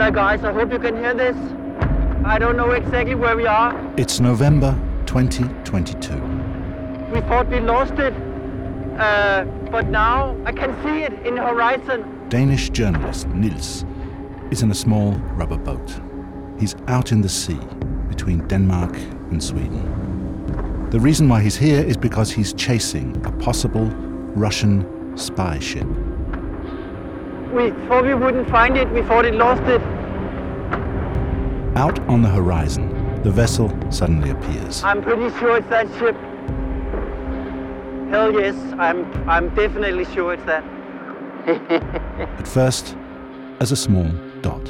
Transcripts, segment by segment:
Guys, I hope you can hear this. I don't know exactly where we are. It's November 2022. We thought we lost it, but now I can see it in the horizon. Danish journalist Niels is in a small rubber boat. He's out in the sea between Denmark and Sweden. The reason why he's here is because he's chasing a possible Russian spy ship. We thought we wouldn't find it. We thought it lost it. Out on the horizon, the vessel suddenly appears. I'm pretty sure it's that ship. Hell yes, I'm definitely sure it's that. At first, as a small dot.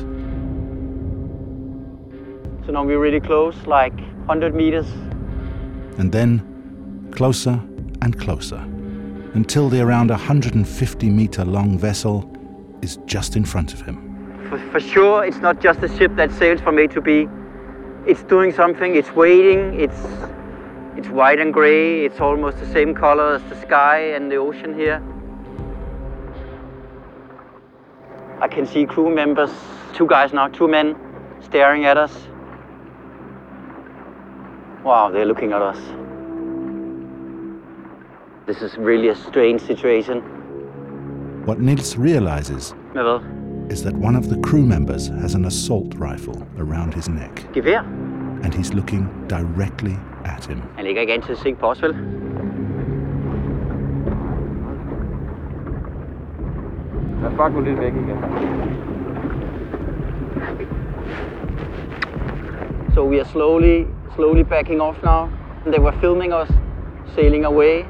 So now we're really close, like 100 meters. And then closer and closer, until the around 150-meter long vessel is just in front of him. For sure, it's not just a ship that sails from A to B. It's doing something, it's waiting, it's white and gray, it's almost the same color as the sky and the ocean here. I can see crew members, 2 guys now, 2 men, staring at us. Wow, they're looking at us. This is really a strange situation. What Niels realizes is that one of the crew members has an assault rifle around his neck. Gevær. And he's looking directly at him. Han ligger ikke an til at sigte på os, vel? Lad os bare gå lidt væk igen. So we are slowly backing off now. They were filming us sailing away.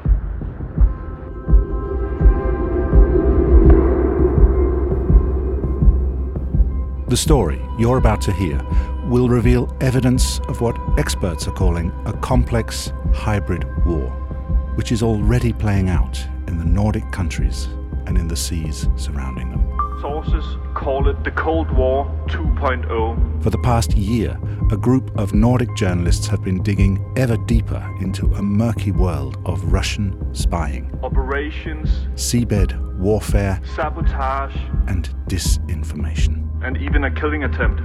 The story you're about to hear will reveal evidence of what experts are calling a complex hybrid war, which is already playing out in the Nordic countries and in the seas surrounding them. Sources call it the Cold War 2.0. For the past year, a group of Nordic journalists have been digging ever deeper into a murky world of Russian spying, Operations, seabed warfare, sabotage, and disinformation. And even a killing attempt.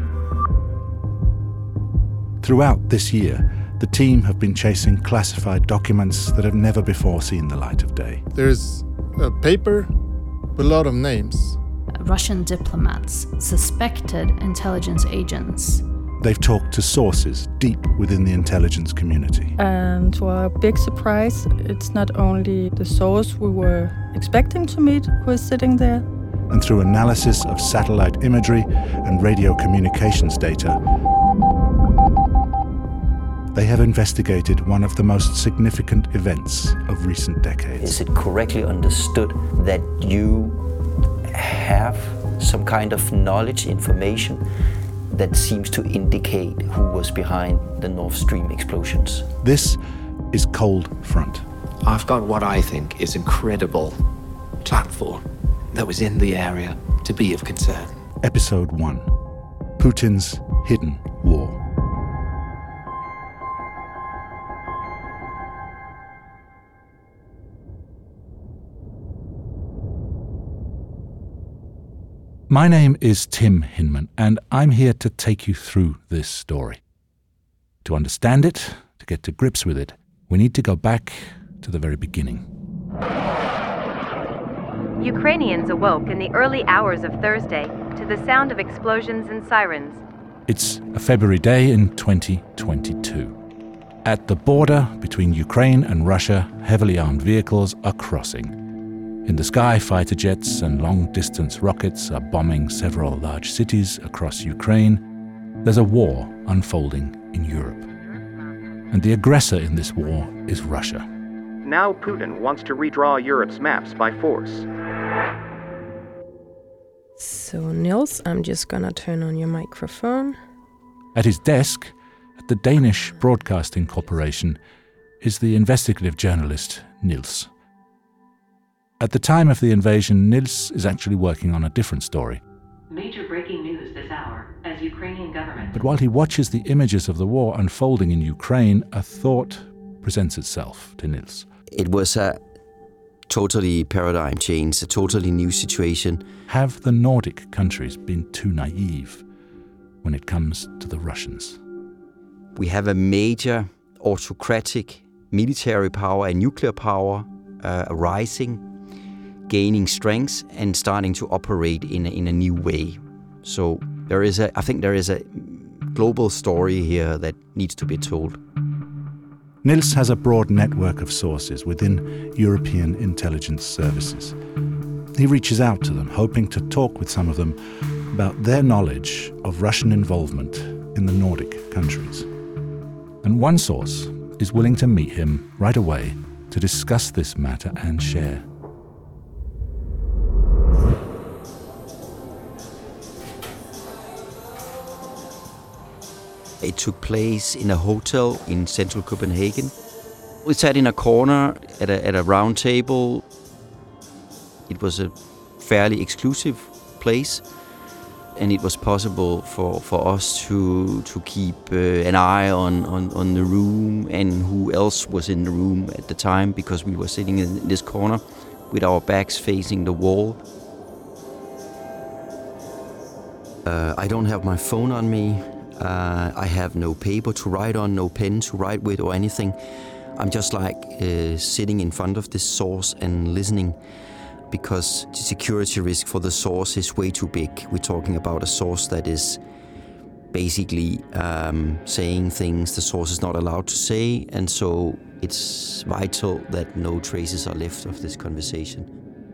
Throughout this year, the team have been chasing classified documents that have never before seen the light of day. There's a paper with a lot of names. Russian diplomats, suspected intelligence agents. They've talked to sources deep within the intelligence community. And to our big surprise, it's not only the source we were expecting to meet who is sitting there. And through analysis of satellite imagery and radio communications data, they have investigated one of the most significant events of recent decades. Is it correctly understood that you have some kind of knowledge, information that seems to indicate who was behind the Nord Stream explosions? This is Cold Front. I've got what I think is incredible platform that was in the area to be of concern. Episode 1. Putin's Hidden War. My name is Tim Hinman, and I'm here to take you through this story. To understand it, to get to grips with it, we need to go back to the very beginning. Ukrainians awoke in the early hours of Thursday to the sound of explosions and sirens. It's a February day in 2022. At the border between Ukraine and Russia, heavily armed vehicles are crossing. In the sky, fighter jets and long-distance rockets are bombing several large cities across Ukraine. There's a war unfolding in Europe. And the aggressor in this war is Russia. Now Putin wants to redraw Europe's maps by force. So, Niels, I'm just gonna turn on your microphone. At his desk, at the Danish Broadcasting Corporation, is the investigative journalist Niels. At the time of the invasion, Niels is actually working on a different story. Major breaking news this hour as Ukrainian government. But while he watches the images of the war unfolding in Ukraine, a thought presents itself to Niels. It was a totally paradigm change, a totally new situation. Have the Nordic countries been too naive? when it comes to the Russians. We have a major autocratic military power and nuclear power rising, gaining strength and starting to operate in a new way. So I think there is a global story here that needs to be told. Niels has a broad network of sources within European intelligence services. He reaches out to them, hoping to talk with some of them about their knowledge of Russian involvement in the Nordic countries. And one source is willing to meet him right away to discuss this matter and share. It took place in a hotel in central Copenhagen. We sat in a corner at a round table. It was a fairly exclusive place, and it was possible for us to keep an eye on the room and who else was in the room at the time, because we were sitting in this corner with our backs facing the wall. I don't have my phone on me. I have no paper to write on, no pen to write with or anything. I'm just like sitting in front of this source and listening, because the security risk for the source is way too big. We're talking about a source that is basically saying things the source is not allowed to say, and so it's vital that no traces are left of this conversation.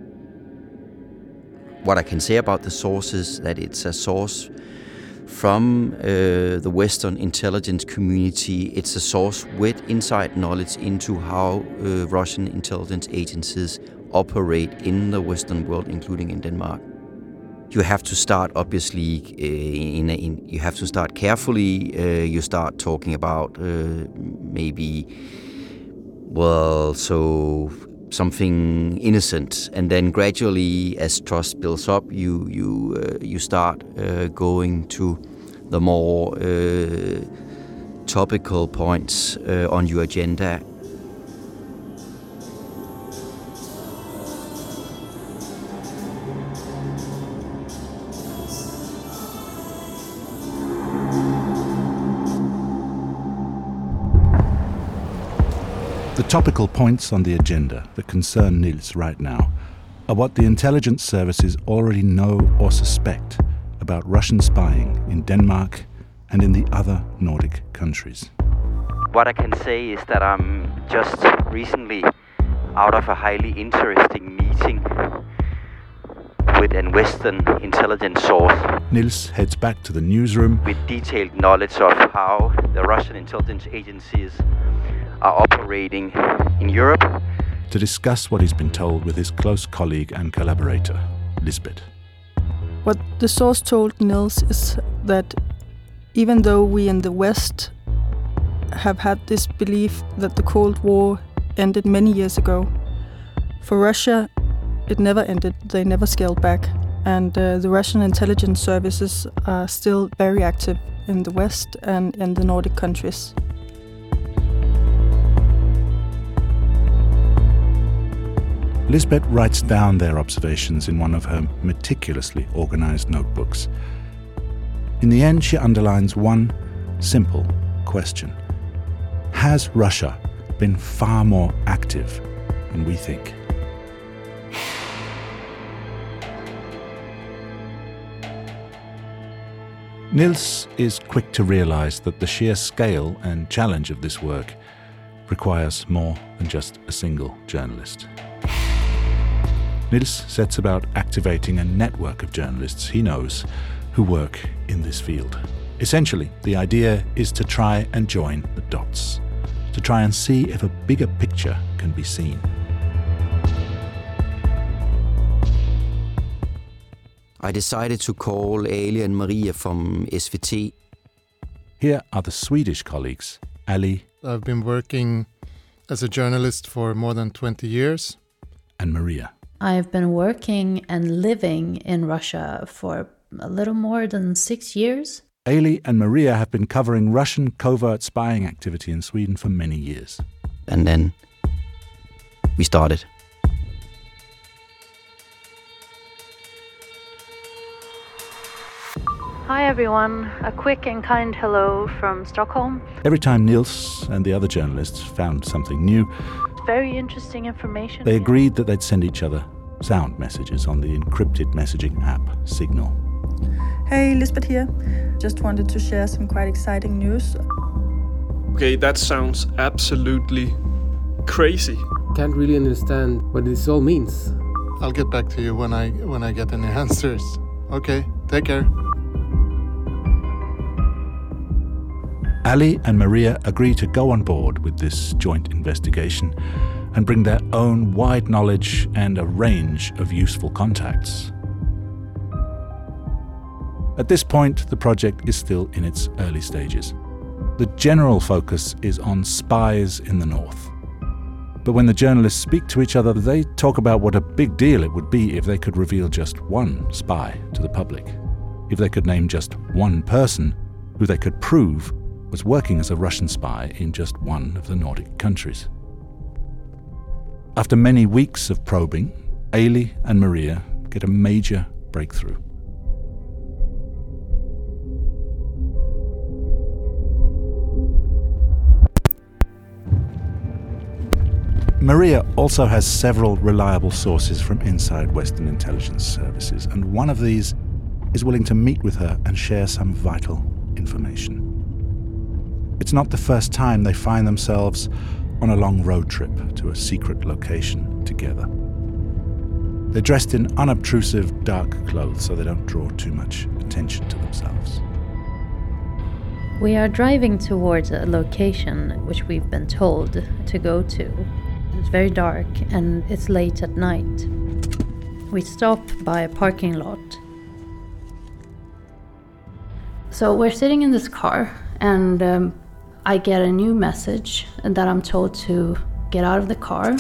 What I can say about the source is that it's a source from the Western intelligence community. It's a source with inside knowledge into how Russian intelligence agencies operate in the Western world, including in Denmark. You have to start, obviously, you have to start carefully. You start talking about something innocent, and then gradually, as trust builds up, you start going to the more topical points on your agenda. The topical points on the agenda that concern Niels right now are what the intelligence services already know or suspect about Russian spying in Denmark and in the other Nordic countries. What I can say is that I'm just recently out of a highly interesting meeting with a Western intelligence source. Niels heads back to the newsroom with detailed knowledge of how the Russian intelligence agencies are operating in Europe, to discuss what he's been told with his close colleague and collaborator, Lisbeth. What the source told Niels is that even though we in the West have had this belief that the Cold War ended many years ago, for Russia it never ended. They never scaled back, and the Russian intelligence services are still very active in the West and in the Nordic countries. Lisbeth writes down their observations in one of her meticulously organized notebooks. In the end, she underlines one simple question. Has Russia been far more active than we think? Niels is quick to realize that the sheer scale and challenge of this work requires more than just a single journalist. Niels sets about activating a network of journalists he knows who work in this field. Essentially, the idea is to try and join the dots, to try and see if a bigger picture can be seen. I decided to call Ali and Maria from SVT. Here are the Swedish colleagues, Ali. I've been working as a journalist for more than 20 years. And Maria. I've been working and living in Russia for a little more than 6 years. Ali and Maria have been covering Russian covert spying activity in Sweden for many years. And then we started. Hi everyone, a quick and kind hello from Stockholm. Every time Niels and the other journalists found something new, very interesting information. They agreed that they'd send each other sound messages on the encrypted messaging app Signal. Hey, Lisbeth here. Just wanted to share some quite exciting news. Okay, that sounds absolutely crazy. Can't really understand what this all means. I'll get back to you when I get any answers. Okay, take care. Ali and Maria agree to go on board with this joint investigation and bring their own wide knowledge and a range of useful contacts. At this point, the project is still in its early stages. The general focus is on spies in the north. But when the journalists speak to each other, they talk about what a big deal it would be if they could reveal just one spy to the public, if they could name just one person who they could prove was working as a Russian spy in just one of the Nordic countries. After many weeks of probing, Ailey and Maria get a major breakthrough. Maria also has several reliable sources from inside Western intelligence services, and one of these is willing to meet with her and share some vital information. It's not the first time they find themselves on a long road trip to a secret location together. They're dressed in unobtrusive dark clothes so they don't draw too much attention to themselves. We are driving towards a location which we've been told to go to. It's very dark and it's late at night. We stop by a parking lot. So we're sitting in this car and I get a new message that I'm told to get out of the car.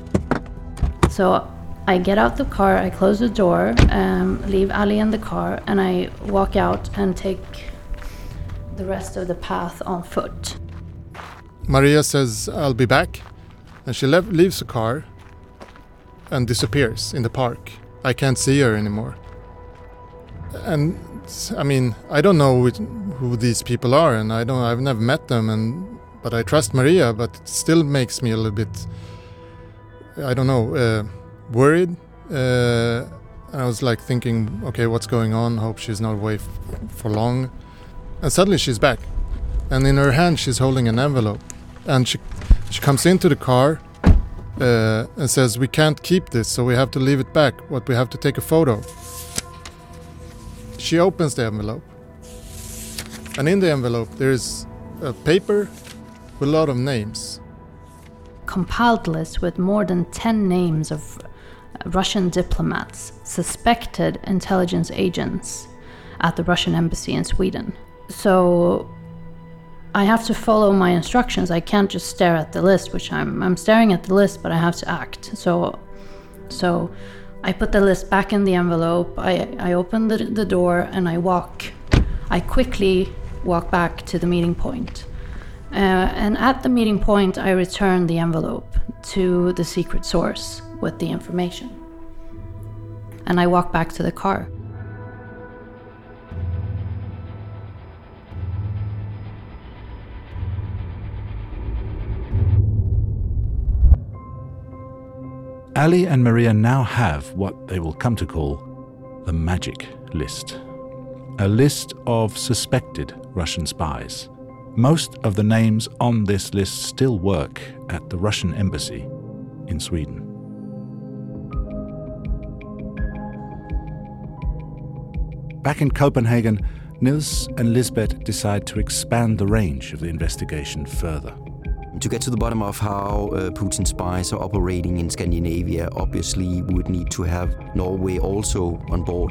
So I get out the car, I close the door, leave Ali in the car, and I walk out and take the rest of the path on foot. Maria says, I'll be back. And she leaves the car and disappears in the park. I can't see her anymore. And I mean, I don't know who these people are, and I've never met them, but I trust Maria, but it still makes me a little bit, I don't know, worried. I was like thinking, okay, what's going on? Hope she's not away for long. And suddenly she's back. And in her hand she's holding an envelope. And she comes into the car and says, we can't keep this, so we have to leave it back, but we have to take a photo. She opens the envelope. And in the envelope there is a paper with a lot of names. Compiled list with more than 10 names of Russian diplomats, suspected intelligence agents at the Russian embassy in Sweden. So I have to follow my instructions. I can't just stare at the list, which I'm staring at the list, but I have to act. So I put the list back in the envelope. I open the door and I quickly walk back to the meeting point. And at the meeting point, I return the envelope to the secret source with the information. And I walk back to the car. Ali and Maria now have what they will come to call the magic list. A list of suspected Russian spies. Most of the names on this list still work at the Russian embassy in Sweden. Back in Copenhagen, Niels and Lisbeth decide to expand the range of the investigation further. To get to the bottom of how Putin's spies are operating in Scandinavia, obviously we would need to have Norway also on board.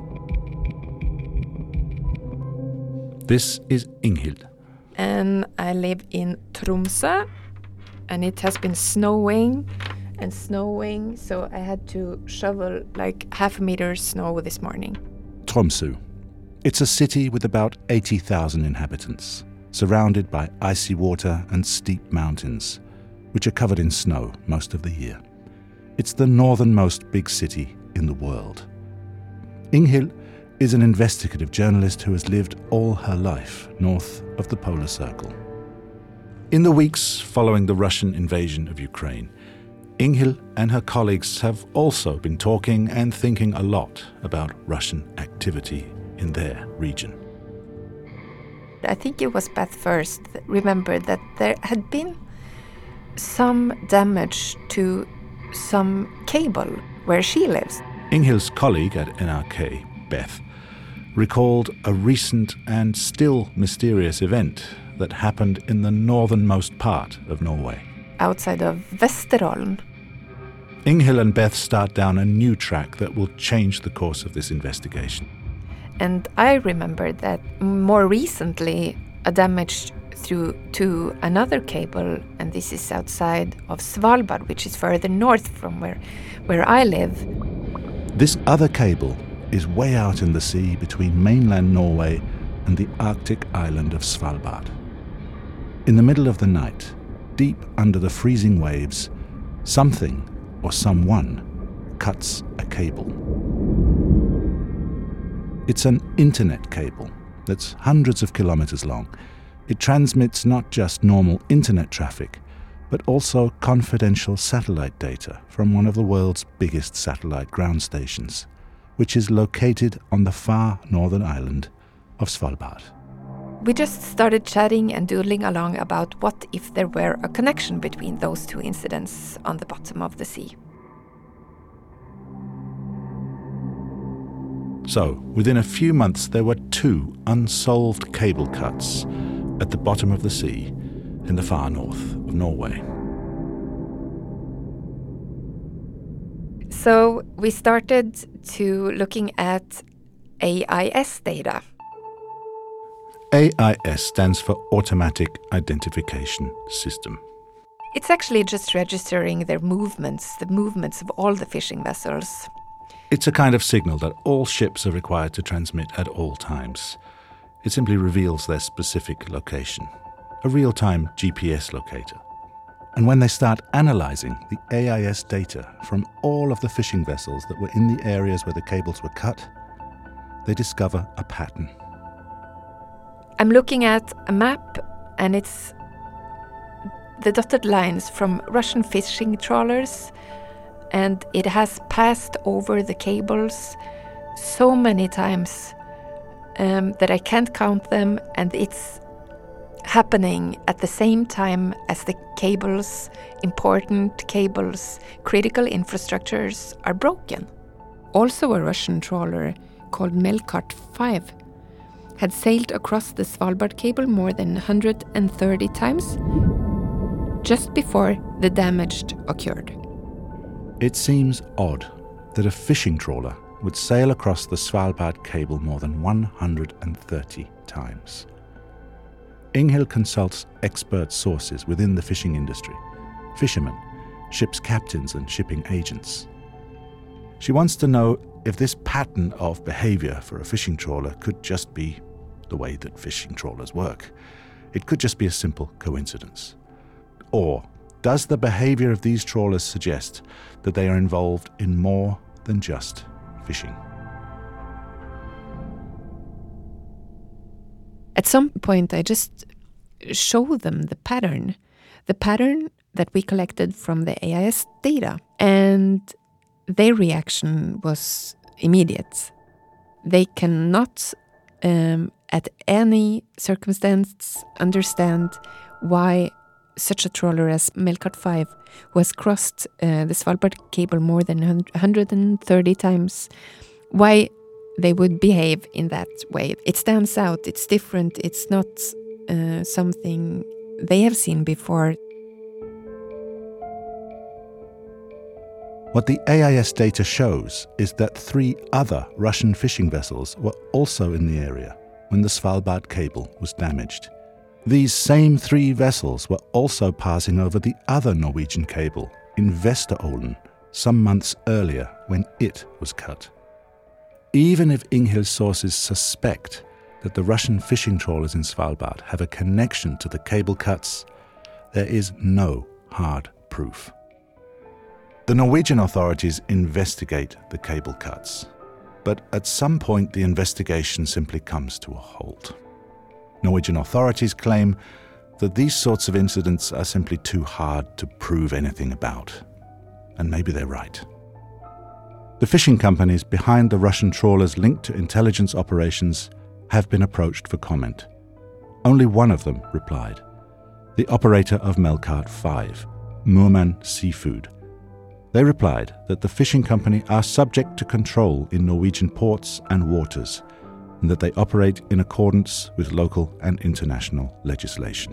This is Inghild. And I live in Tromsø, and it has been snowing and snowing, so I had to shovel like half a meter of snow this morning. Tromsø. It's a city with about 80,000 inhabitants, surrounded by icy water and steep mountains, which are covered in snow most of the year. It's the northernmost big city in the world. Inghild is an investigative journalist who has lived all her life north of the polar circle. In the weeks following the Russian invasion of Ukraine, Inghild and her colleagues have also been talking and thinking a lot about Russian activity in their region. I think it was Beth first that remembered that there had been some damage to some cable where she lives. Inghild's colleague at NRK, Beth, recalled a recent and still mysterious event that happened in the northernmost part of Norway. Outside of Vesterålen. Inghild and Beth start down a new track that will change the course of this investigation. And I remembered that more recently a damage to another cable, and this is outside of Svalbard, which is further north from where I live. This other cable is way out in the sea between mainland Norway and the Arctic island of Svalbard. In the middle of the night, deep under the freezing waves, something or someone cuts a cable. It's an internet cable that's hundreds of kilometers long. It transmits not just normal internet traffic, but also confidential satellite data from one of the world's biggest satellite ground stations, which is located on the far northern island of Svalbard. We just started chatting and doodling along about what if there were a connection between those two incidents on the bottom of the sea. So, within a few months, there were 2 unsolved cable cuts at the bottom of the sea in the far north of Norway. So we started to looking at AIS data. AIS stands for Automatic Identification System. It's actually just registering their movements, the movements of all the fishing vessels. It's a kind of signal that all ships are required to transmit at all times. It simply reveals their specific location, a real-time GPS locator. And when they start analyzing the AIS data from all of the fishing vessels that were in the areas where the cables were cut, they discover a pattern. I'm looking at a map, and it's the dotted lines from Russian fishing trawlers, and it has passed over the cables so many times that I can't count them, and it's happening at the same time as the cables, important cables, critical infrastructures are broken. Also a Russian trawler called Melkart 5 had sailed across the Svalbard cable more than 130 times just before the damage occurred. It seems odd that a fishing trawler would sail across the Svalbard cable more than 130 times. Inghild consults expert sources within the fishing industry, fishermen, ship's captains and shipping agents. She wants to know if this pattern of behavior for a fishing trawler could just be the way that fishing trawlers work. It could just be a simple coincidence. Or does the behavior of these trawlers suggest that they are involved in more than just fishing? At some point, I just show them the pattern that we collected from the AIS data, and their reaction was immediate. They cannot, at any circumstance, understand why such a trawler as Melkart 5, who has crossed the Svalbard cable more than 130 times, why they would behave in that way. It stands out, it's different, it's not something they have seen before. What the AIS data shows is that 3 other Russian fishing vessels were also in the area when the Svalbard cable was damaged. These same 3 vessels were also passing over the other Norwegian cable in Vesterålen some months earlier when it was cut. Even if Inghild's sources suspect that the Russian fishing trawlers in Svalbard have a connection to the cable cuts, there is no hard proof. The Norwegian authorities investigate the cable cuts, but at some point the investigation simply comes to a halt. Norwegian authorities claim that these sorts of incidents are simply too hard to prove anything about. And maybe they're right. The fishing companies behind the Russian trawlers linked to intelligence operations have been approached for comment. Only one of them replied, the operator of Melkart 5, Murman Seafood. They replied that the fishing company are subject to control in Norwegian ports and waters, and that they operate in accordance with local and international legislation.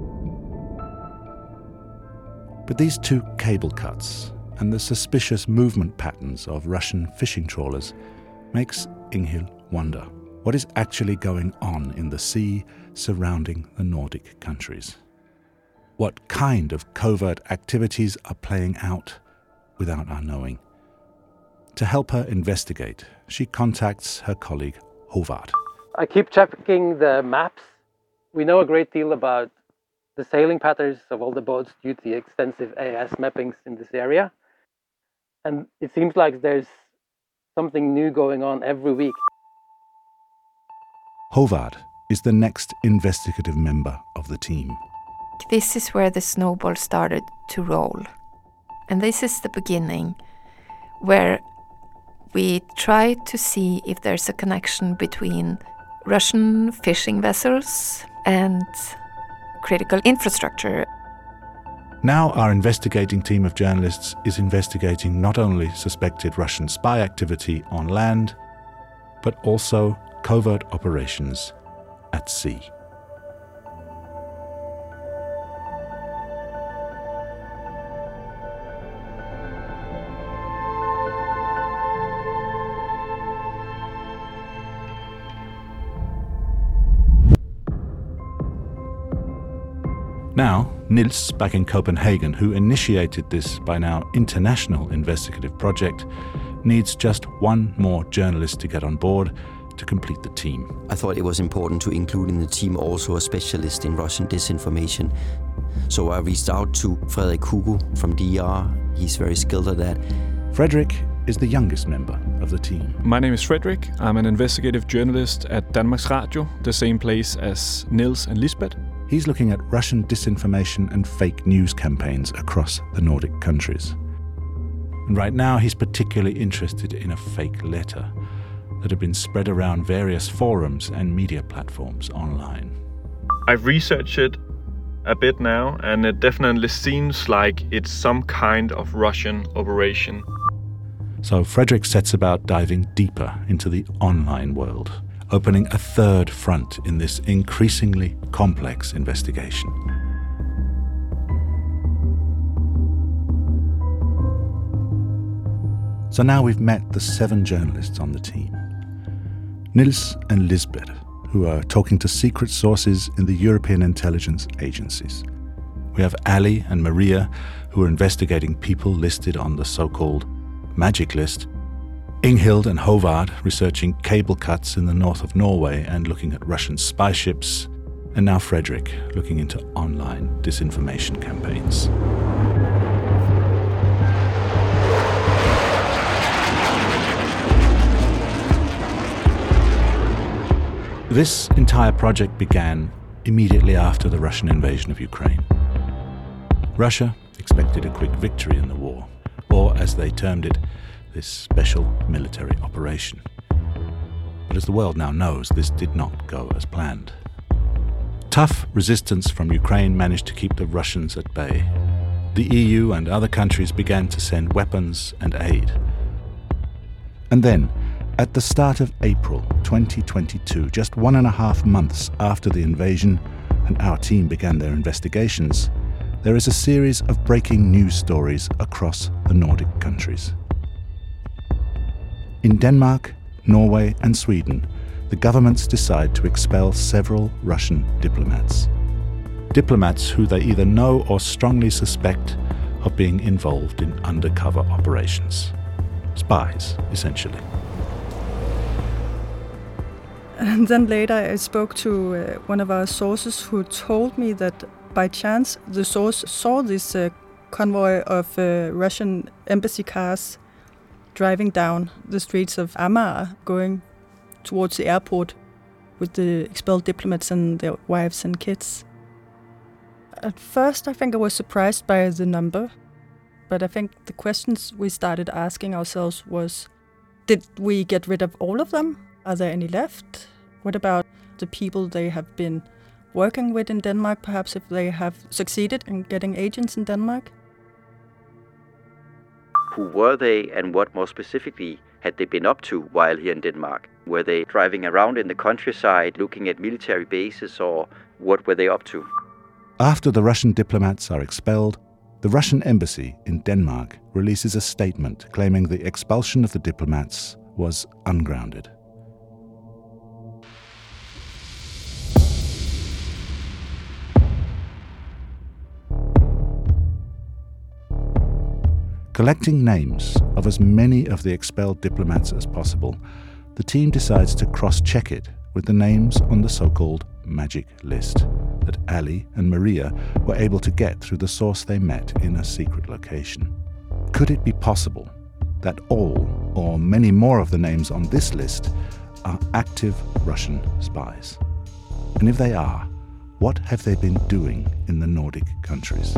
But these two cable cuts and the suspicious movement patterns of Russian fishing trawlers makes Inghild wonder what is actually going on in the sea surrounding the Nordic countries. What kind of covert activities are playing out without our knowing? To help her investigate, she contacts her colleague Håvard. I keep checking the maps. We know a great deal about the sailing patterns of all the boats due to the extensive AIS mappings in this area. And it seems like there's something new going on every week. Håvard is the next investigative member of the team. This is where the snowball started to roll. And this is the beginning, where we try to see if there's a connection between Russian fishing vessels and critical infrastructure. Now our investigating team of journalists is investigating not only suspected Russian spy activity on land, but also covert operations at sea. Now, Nils, back in Copenhagen, who initiated this by now international investigative project, needs just one more journalist to get on board to complete the team. I thought it was important to include in the team also a specialist in Russian disinformation. So I reached out to Frederik Hugo from DR. He's very skilled at that. Frederik is the youngest member of the team. My name is Frederik. I'm an investigative journalist at Danmarks Radio, the same place as Niels and Lisbeth. He's looking at Russian disinformation and fake news campaigns across the Nordic countries. And right now he's particularly interested in a fake letter that had been spread around various forums and media platforms online. I've researched it a bit now, and it definitely seems like it's some kind of Russian operation. So Frederik sets about diving deeper into the online world, opening a third front in this increasingly complex investigation. So now we've met the 7 journalists on the team. Nils and Lisbeth, who are talking to secret sources in the European intelligence agencies. We have Ali and Maria, who are investigating people listed on the so-called magic list. Inghild and Håvard researching cable cuts in the north of Norway and looking at Russian spy ships. And now Frederik looking into online disinformation campaigns. This entire project began immediately after the Russian invasion of Ukraine. Russia expected a quick victory in the war, or as they termed it, this special military operation. But as the world now knows, this did not go as planned. Tough resistance from Ukraine managed to keep the Russians at bay. The EU and other countries began to send weapons and aid. And then, at the start of April 2022, just 1.5 months after the invasion and our team began their investigations, there is a series of breaking news stories across the Nordic countries. In Denmark, Norway and Sweden, the governments decide to expel several Russian diplomats. Diplomats who they either know or strongly suspect of being involved in undercover operations. Spies, essentially. And then later I spoke to one of our sources who told me that by chance the source saw this convoy of Russian embassy cars driving down the streets of Amager, going towards the airport with the expelled diplomats and their wives and kids. At first, I think I was surprised by the number, but I think the questions we started asking ourselves was, did we get rid of all of them? Are there any left? What about the people they have been working with in Denmark, perhaps if they have succeeded in getting agents in Denmark? Who were they, and what more specifically had they been up to while here in Denmark? Were they driving around in the countryside looking at military bases, or what were they up to? After the Russian diplomats are expelled, the Russian embassy in Denmark releases a statement claiming the expulsion of the diplomats was ungrounded. Collecting names of as many of the expelled diplomats as possible, the team decides to cross-check it with the names on the so-called magic list that Ali and Maria were able to get through the source they met in a secret location. Could it be possible that all or many more of the names on this list are active Russian spies? And if they are, what have they been doing in the Nordic countries?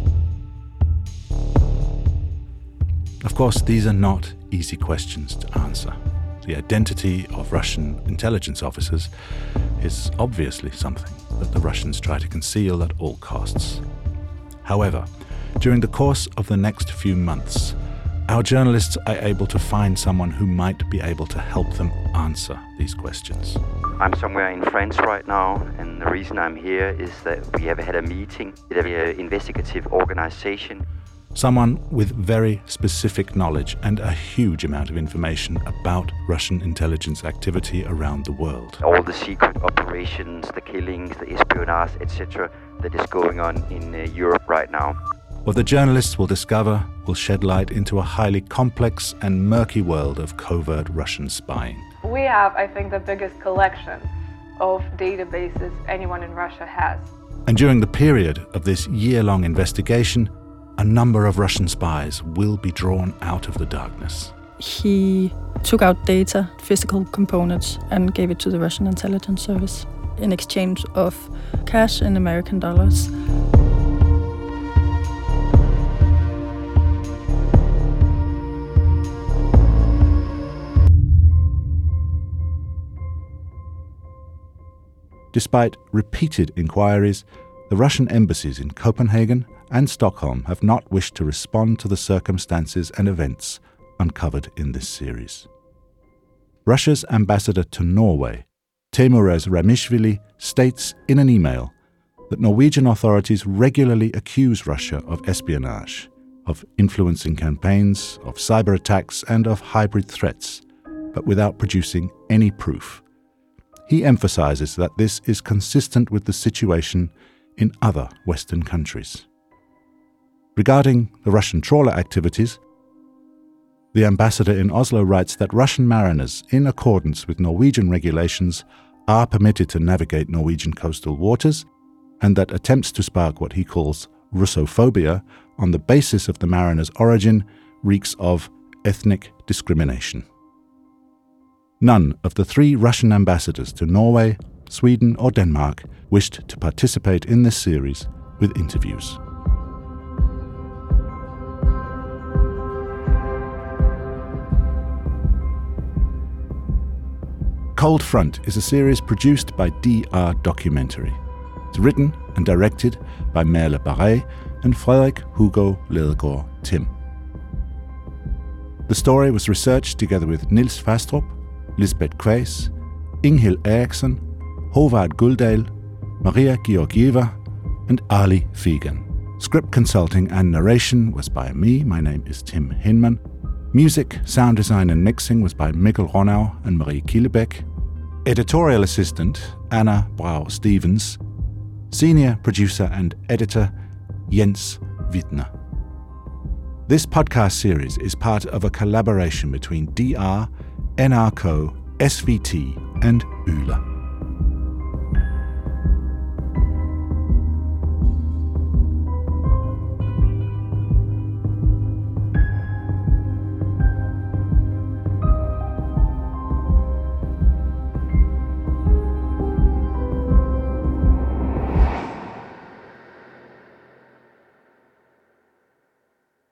Of course, these are not easy questions to answer. The identity of Russian intelligence officers is obviously something that the Russians try to conceal at all costs. However, during the course of the next few months, our journalists are able to find someone who might be able to help them answer these questions. I'm somewhere in France right now, and the reason I'm here is that we have had a meeting with an investigative organization. Someone with very specific knowledge and a huge amount of information about Russian intelligence activity around the world. All the secret operations, the killings, the espionage, etc. that is going on in Europe right now. What the journalists will discover will shed light into a highly complex and murky world of covert Russian spying. We have, I think, the biggest collection of databases anyone in Russia has. And during the period of this year-long investigation, a number of Russian spies will be drawn out of the darkness. He took out data, physical components, and gave it to the Russian intelligence service in exchange of cash and American dollars. Despite repeated inquiries, the Russian embassies in Copenhagen and Stockholm have not wished to respond to the circumstances and events uncovered in this series. Russia's ambassador to Norway, Teimuraz Ramishvili, states in an email that Norwegian authorities regularly accuse Russia of espionage, of influencing campaigns, of cyber attacks, and of hybrid threats, but without producing any proof. He emphasizes that this is consistent with the situation in other Western countries. Regarding the Russian trawler activities, the ambassador in Oslo writes that Russian mariners, in accordance with Norwegian regulations, are permitted to navigate Norwegian coastal waters, and that attempts to spark what he calls Russophobia on the basis of the mariner's origin reeks of ethnic discrimination. None of the 3 Russian ambassadors to Norway, Sweden or Denmark wished to participate in this series with interviews. Cold Front is a series produced by DR Documentary. It's written and directed by Merle Barret and Frederik Hugo Ladegaard Tim. The story was researched together with Nils Fastrup, Lisbeth Quaes, Inghild Eriksson, Håvard Guldal, Maria Georgieva, and Ali Figan. Script consulting and narration was by me. My name is Tim Hinman. Music, sound design and mixing was by Mikkel Ronau and Marie Killebeck. Editorial assistant, Anna Brau-Stevens. Senior producer and editor, Jens Wittner. This podcast series is part of a collaboration between DR, NRK, SVT and Yle.